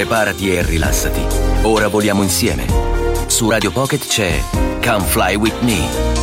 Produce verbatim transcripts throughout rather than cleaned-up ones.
Preparati e rilassati. Ora voliamo insieme. Su Radio Pocket c'è Come Fly With Me.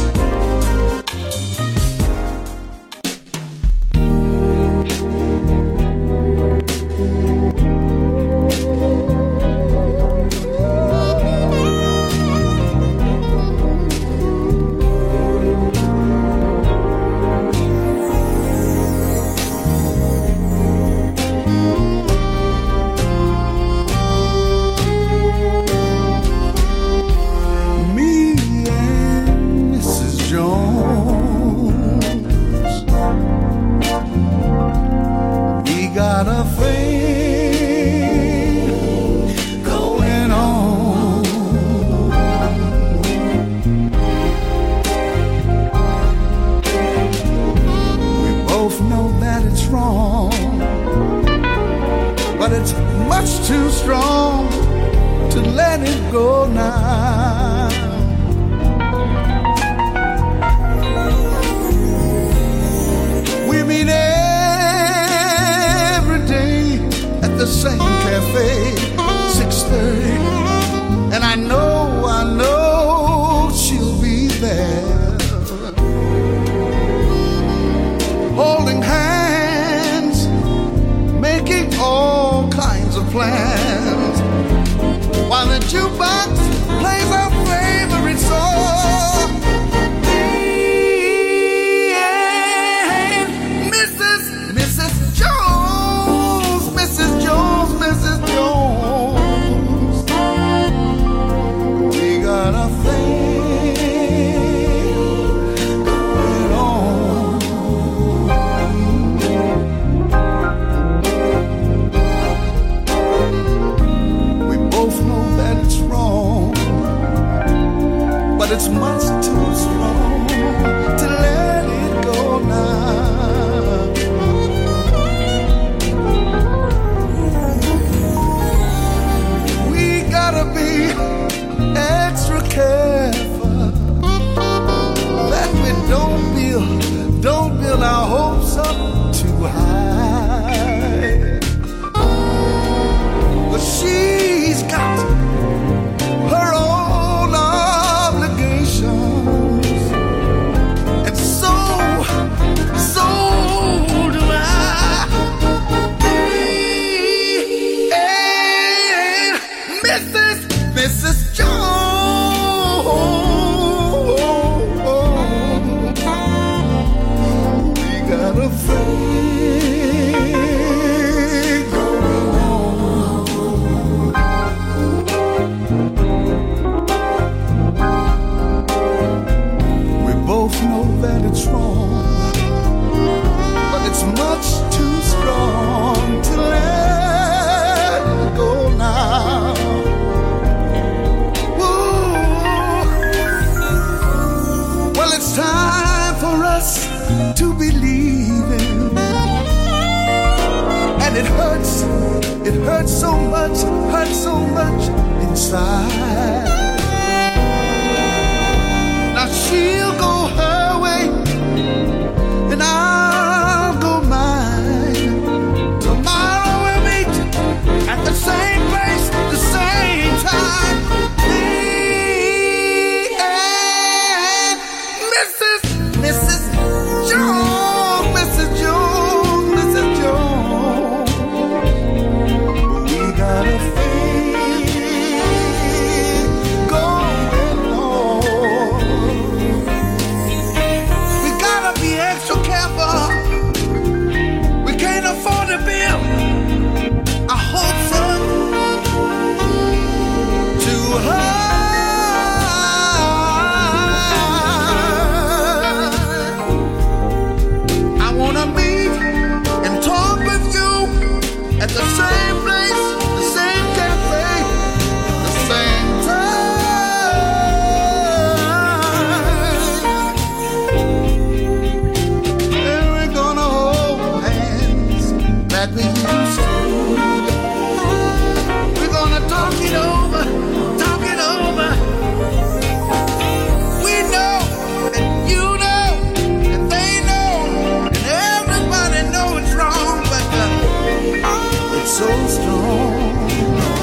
So strong.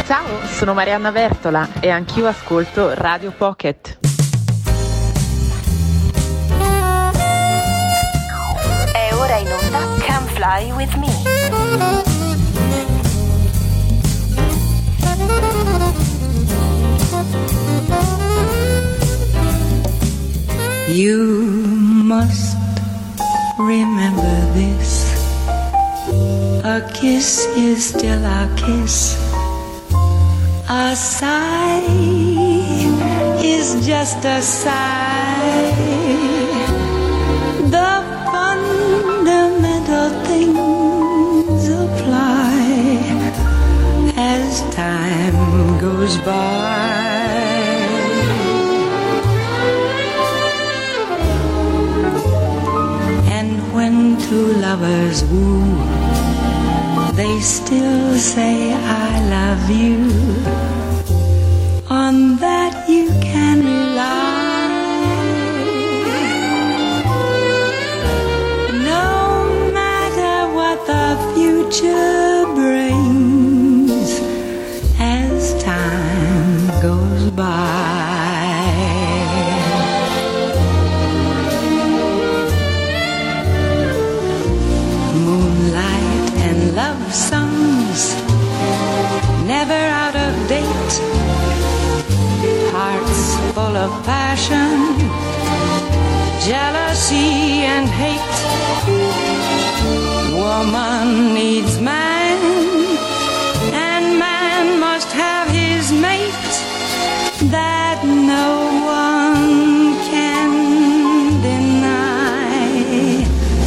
Ciao, sono Marianna Vertola e anch'io ascolto Radio Pocket. È ora in onda Come Fly With Me. You must remember this. A kiss is still a kiss. A sigh is just a sigh. The fundamental things apply as time goes by. And when two lovers woo, they still say I love you. On that you can rely. No matter what the future brings as time goes by. Moonlight and love songs, never out of date. Hearts full of passion, jealousy and hate. Woman needs man, and man must have his mate. That no one can deny.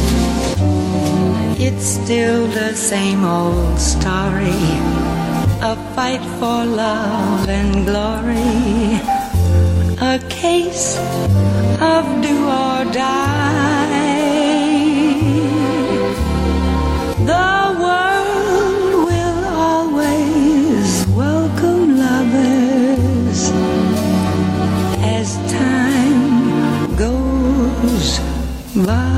It's still the same old story, a fight for love and glory, a case of do or die. The world will always welcome lovers as time goes by.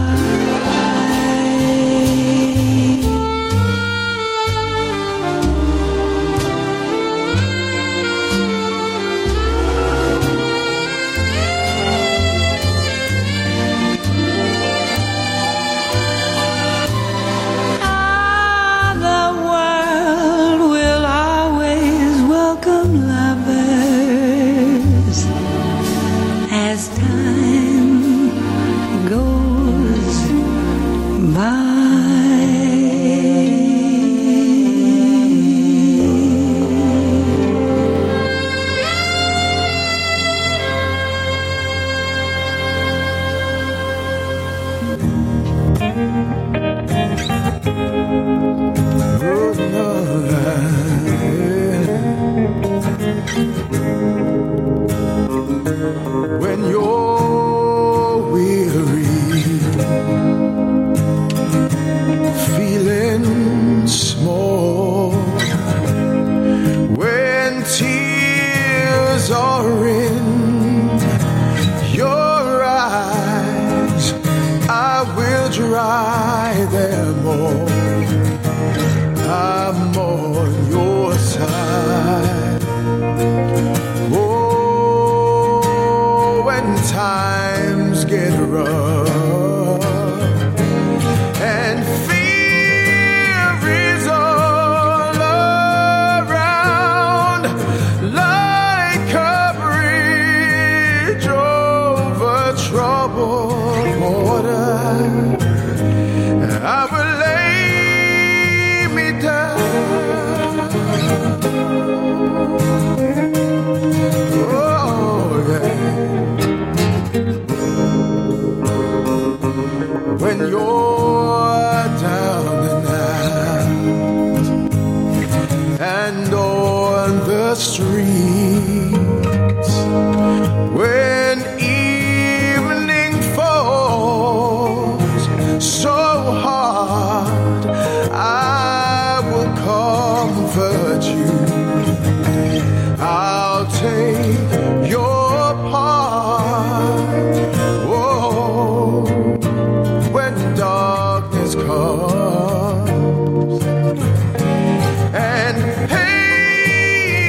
And hey,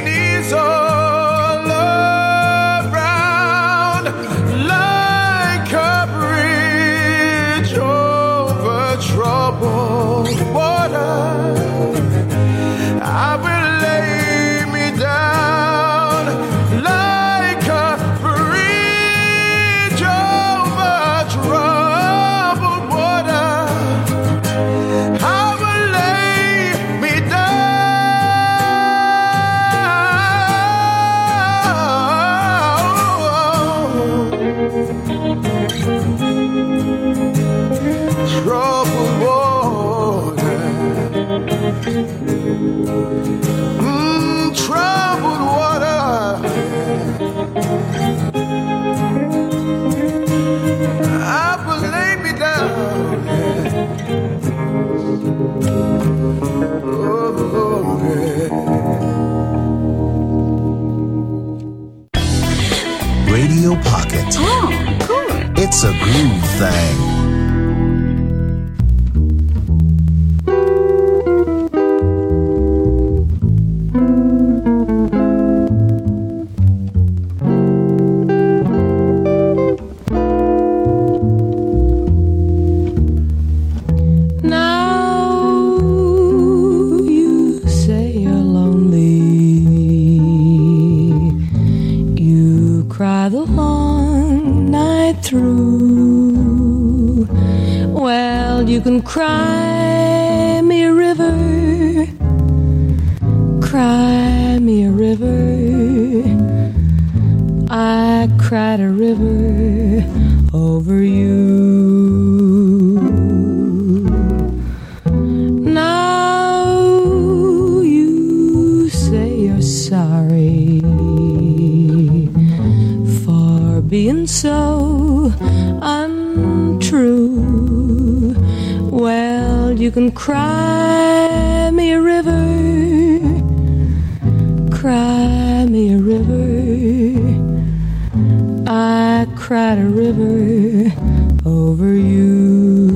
It's a groove thing. You can cry me a river, cry me a river. I cried a river over you. Now you say you're sorry for being so untrue. Well, you can cry me a river, cry me a river. I cried a river over you.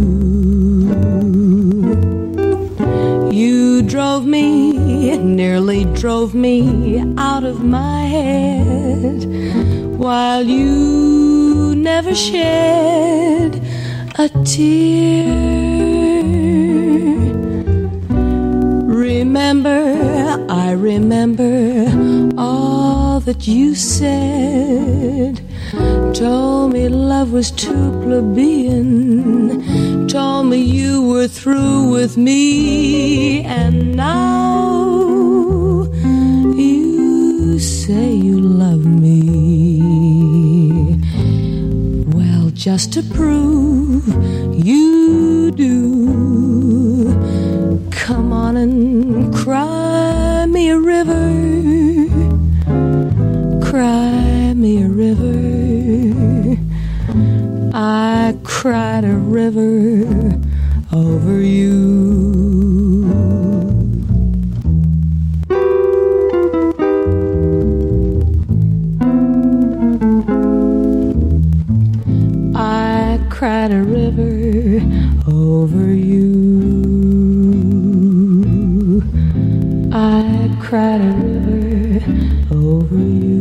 You drove me, nearly drove me out of my head, while you never shed a tear. Remember, I remember all that you said. Told me love was too plebeian. Told me you were through with me. And now you say you love me. Well, just to prove you do, come on and cry me a river, cry me a river. I cried a river over you. I cried a river over you. I cried a river over you.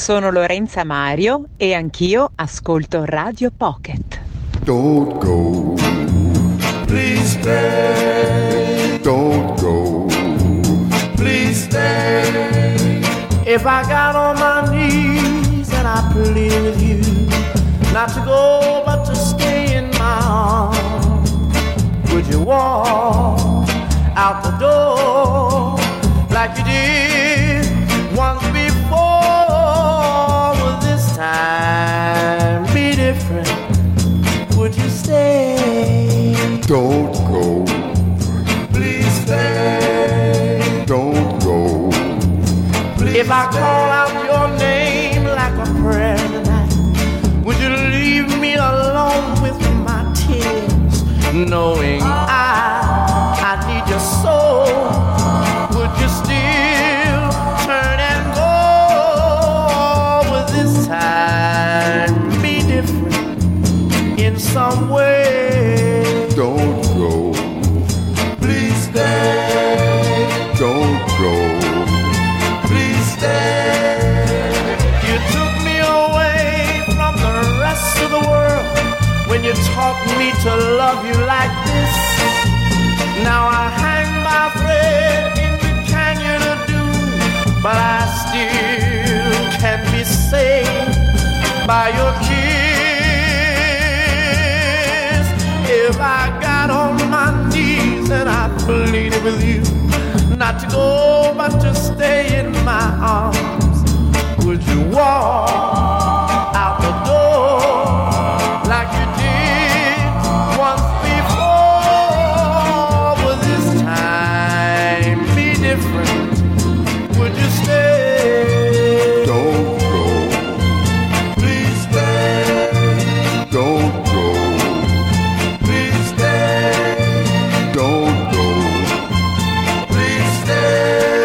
sono Lorenza Mario e anch'io ascolto Radio Pocket. Don't go, please stay. Don't go, please stay. If I got on my knees and I plead with you not to go but to stay in my arms, would you walk out the door like you did once before? Will this time be different? Would you stay? Don't go. Please stay. Don't go. Please if I call out your name like a prayer tonight, would you leave me alone with my tears, knowing I, I need your soul? Would you still turn and go? Would this time be different in some way? Don't go. Please stay. Don't go. Please stay. You took me away from the rest of the world when you taught me to love you like this. Now I hang my thread in the canyon of doom, but I still can be saved by your kiss. If I got on my knees and I pleaded with you not to go but to stay in my arms, would you walk out the door like you did once before? Will this time be different? Would you stay? Don't go. Please stay. Don't go. Please stay. Don't go. Please stay.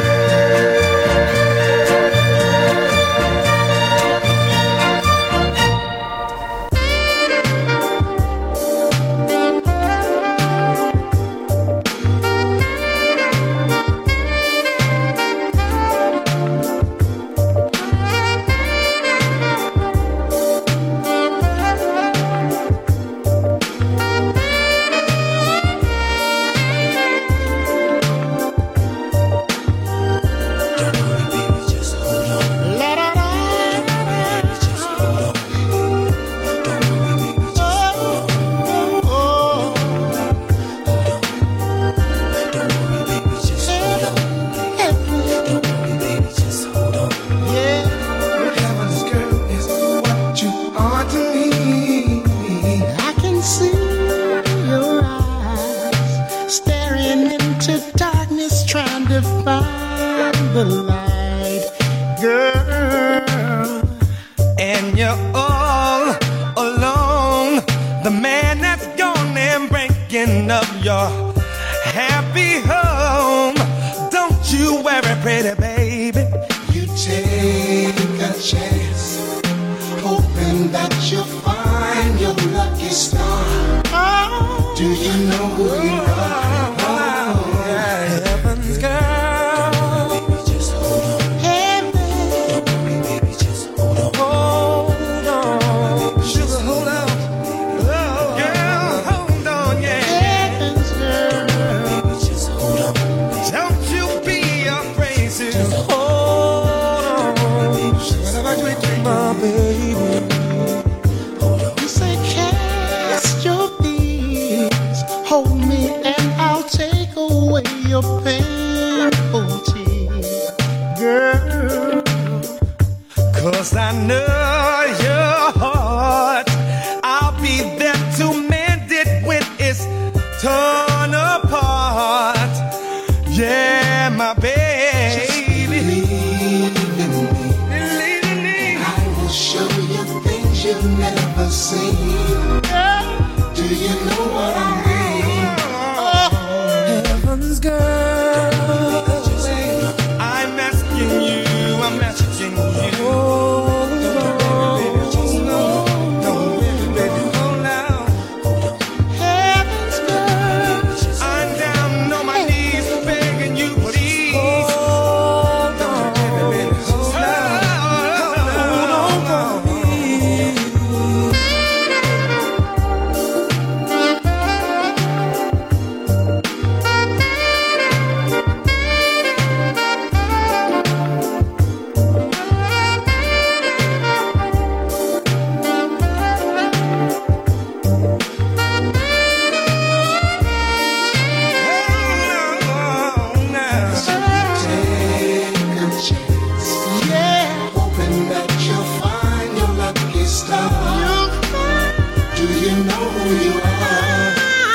you are.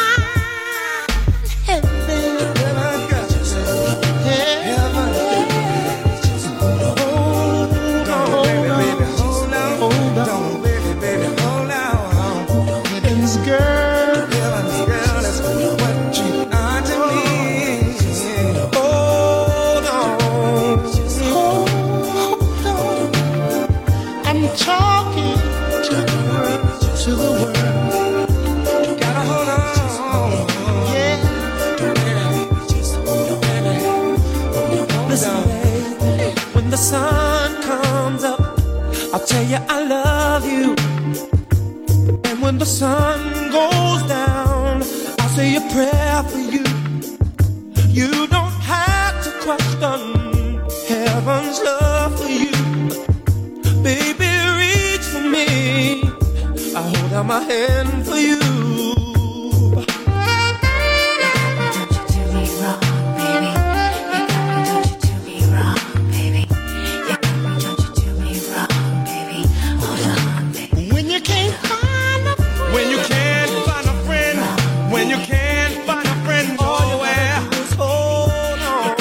Heaven, heaven, heaven. Hold on, baby, hold on, hold on, baby, baby, hold on. Heaven's girl, heaven's girl, that's what you are to me. Hold on, hold on. I'm talking to the world, to the world. Gotta hold on, yeah. Listen, baby, when the sun comes up, I'll tell you I love you. And when the sun goes down, I'll say a prayer for you. You don't have to question heaven's love for you. Baby, reach for me, I hold out my hand for you. When you can't find a friend, when you can't find a friend, when you can't find a friend nowhere, just hold on.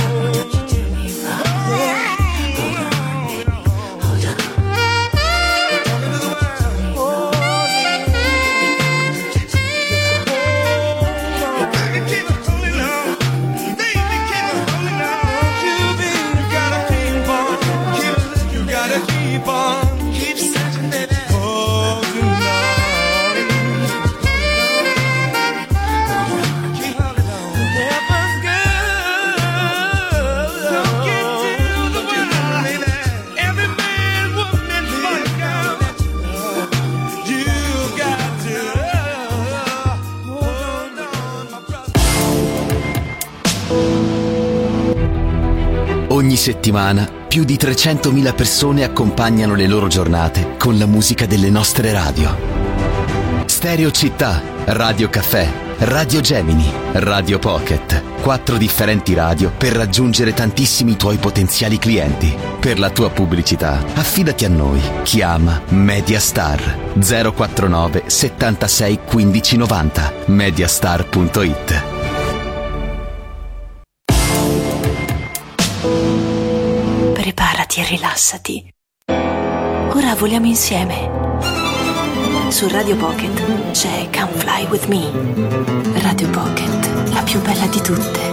Ogni settimana più di trecentomila persone accompagnano le loro giornate con la musica delle nostre radio. Stereo Città, Radio Caffè, Radio Gemini, Radio Pocket. Quattro differenti radio per raggiungere tantissimi tuoi potenziali clienti. Per la tua pubblicità, affidati a noi. Chiama Mediastar zero quarantanove settantasei quindici novanta, mediastar punto it. Preparati e rilassati. Ora voliamo insieme. Su Radio Pocket c'è Come Fly With Me. Radio Pocket, la più bella di tutte.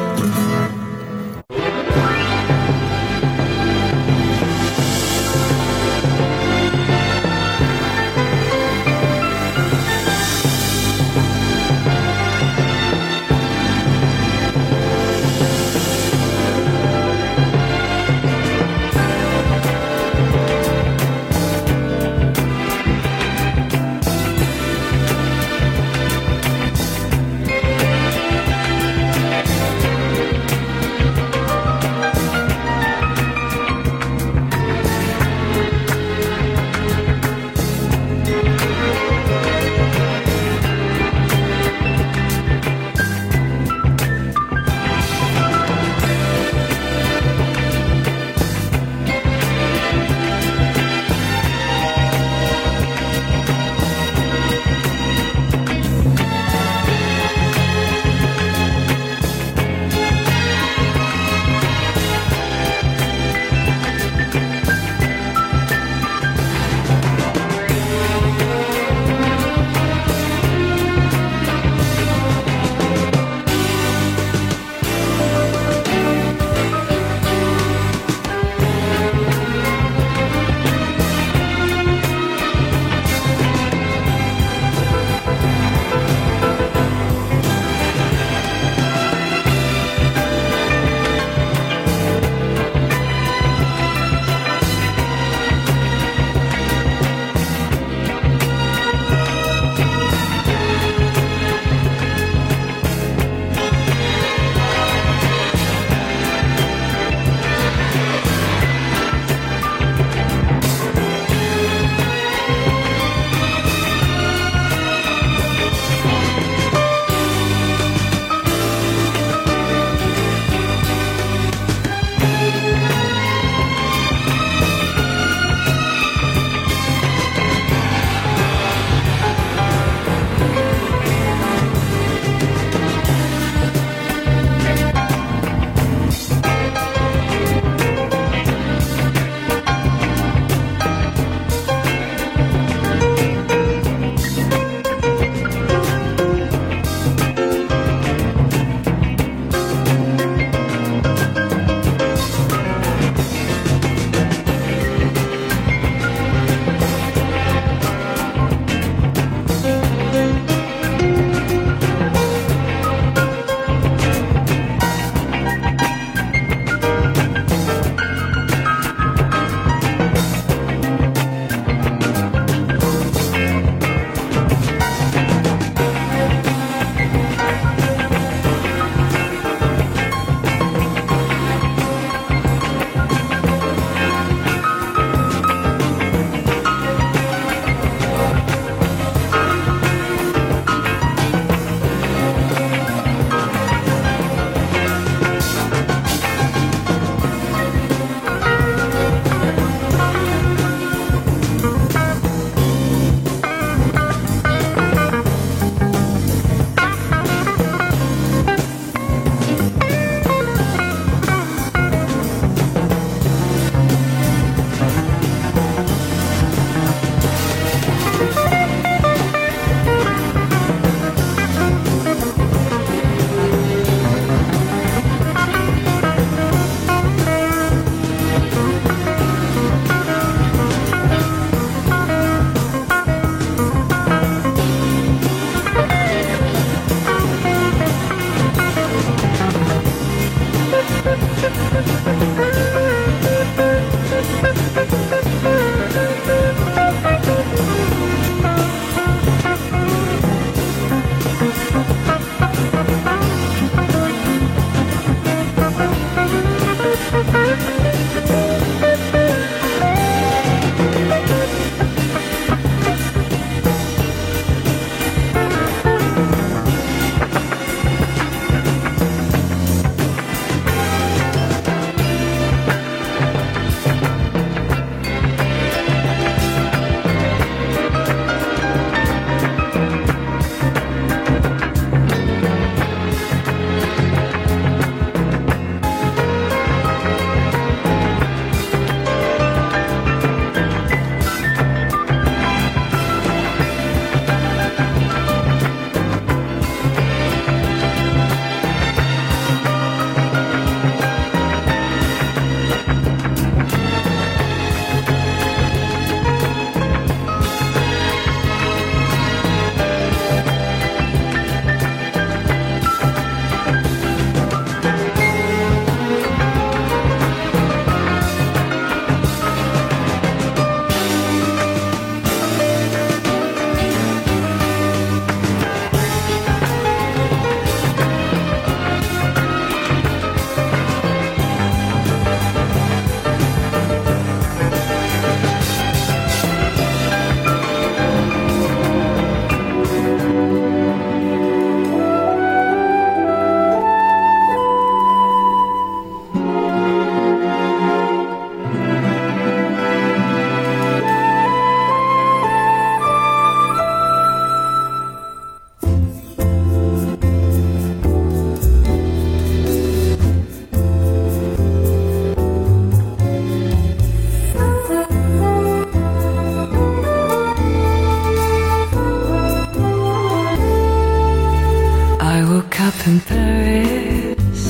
in Paris,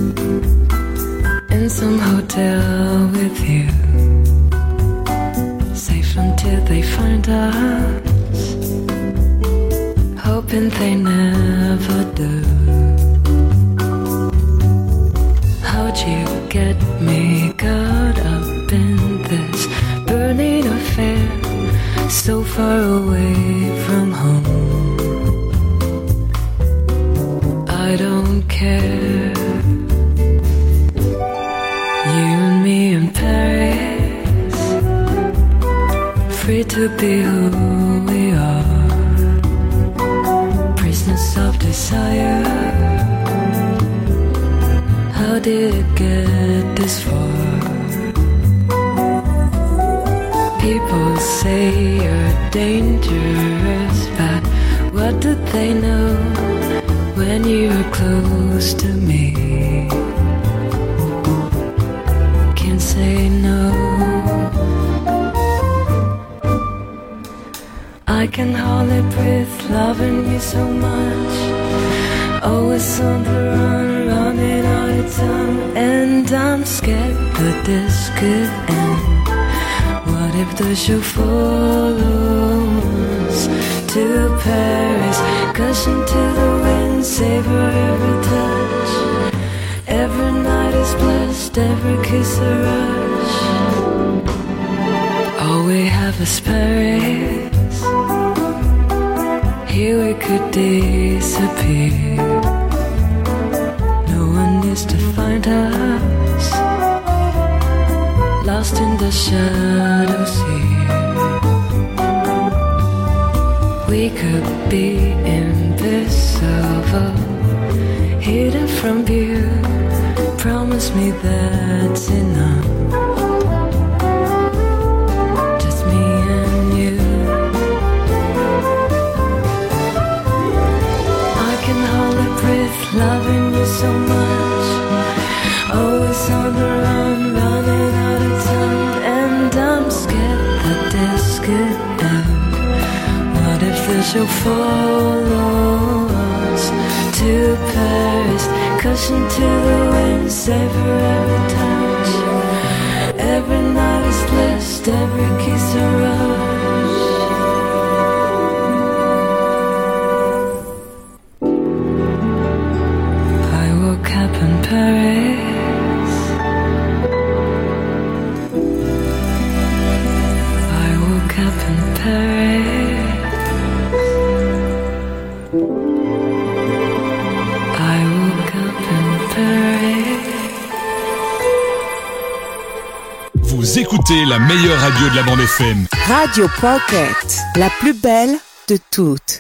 in some hotel with you, safe until they find us, hoping they never do. How'd you get me caught up in this burning affair, so far away from home? I don't care. You and me in Paris, free to be who we are, prisoners of desire. How did it get this far? People say you're dangerous, but what do they know when you're close to me? Can't say no. I can hardly breathe, loving you so much, always on the run, running out of time, and I'm scared that this could end. What if the show follows to Paris, cushion to the wind, savor every touch. Every night is blessed, every kiss a rush. All we have is Paris. Here we could disappear. No one needs to find us, lost in the shadows here. We could be invisible, hidden from view. Promise me that's enough. Just me and you. I can hardly breathe, loving you so much, always on the run, running out of time, and I'm scared that this could end. What if the show follows to Paris, cushion to the wind, savor every touch. Every night is blessed, every kiss a rush. I woke up in Paris, I woke up in Paris, I woke up in Paris. Vous écoutez la meilleure radio de la bande F M. Radio Pocket, la plus belle de toutes.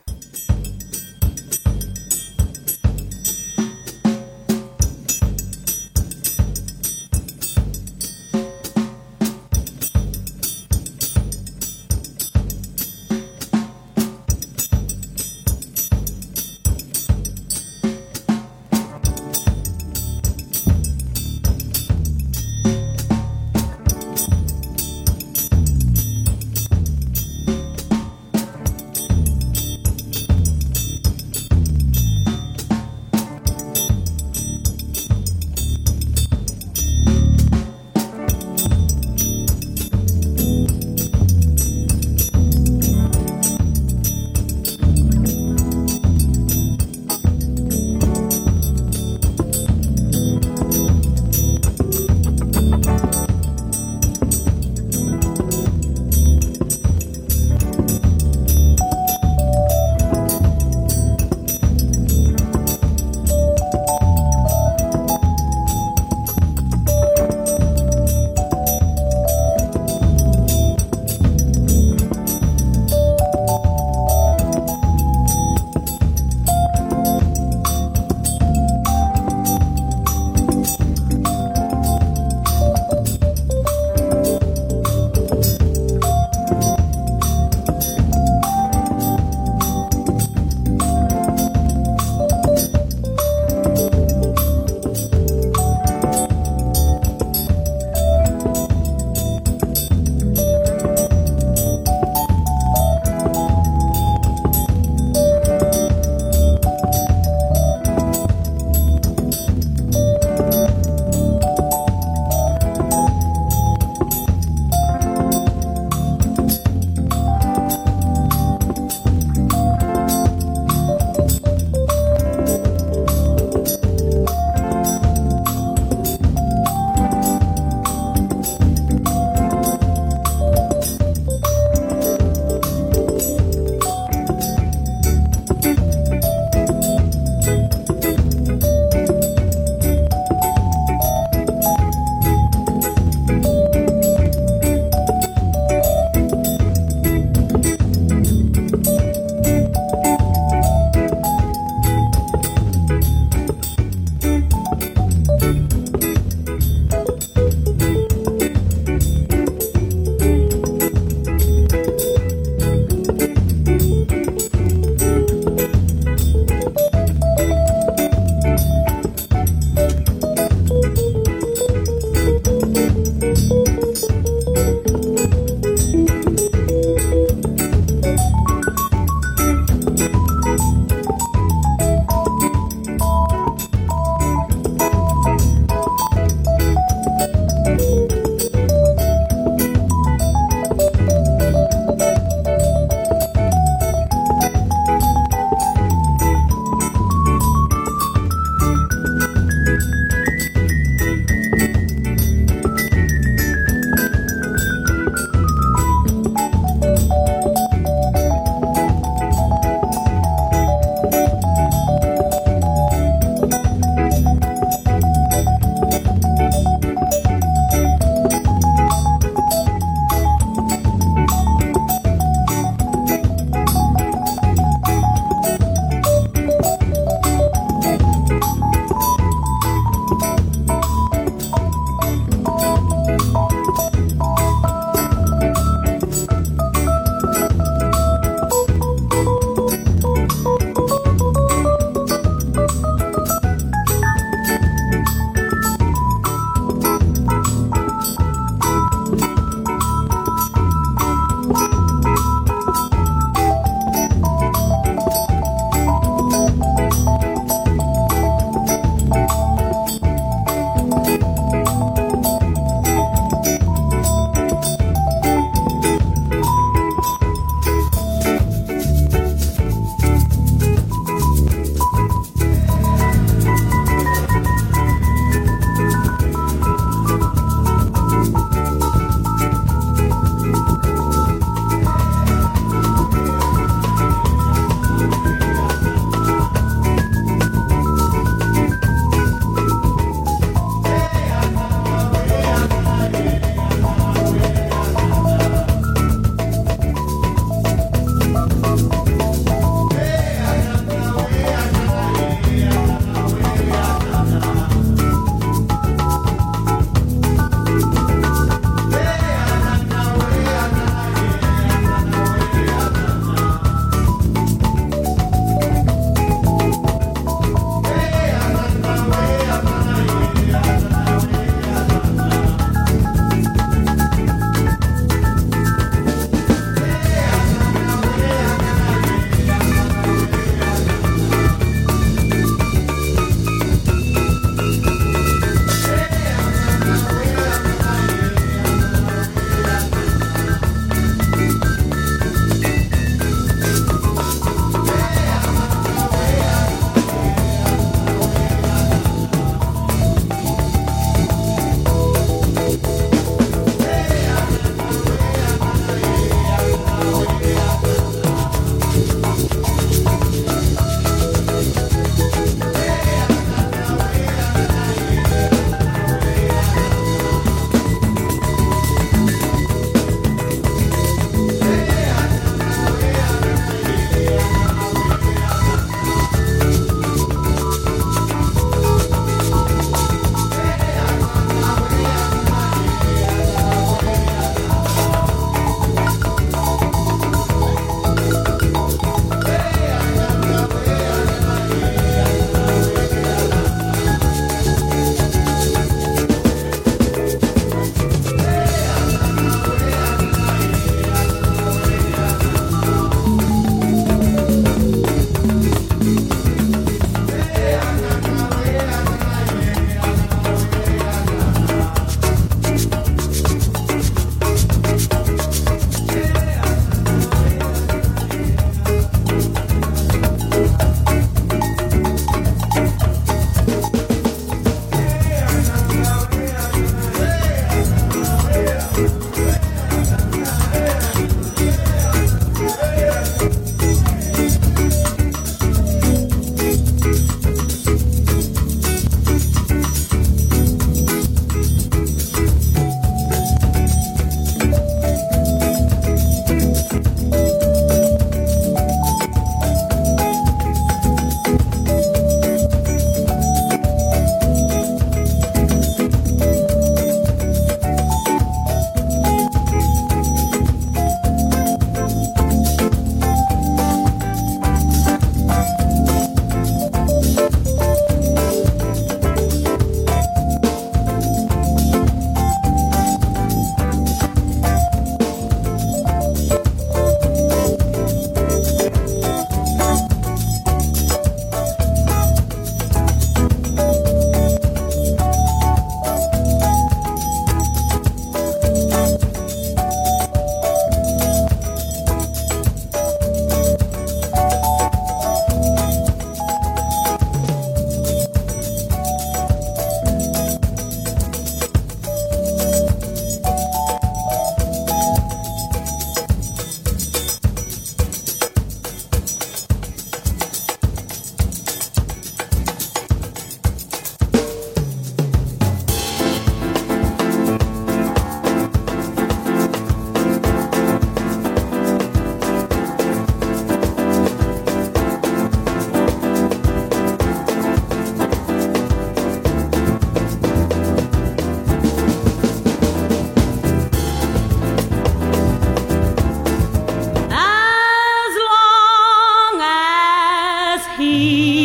he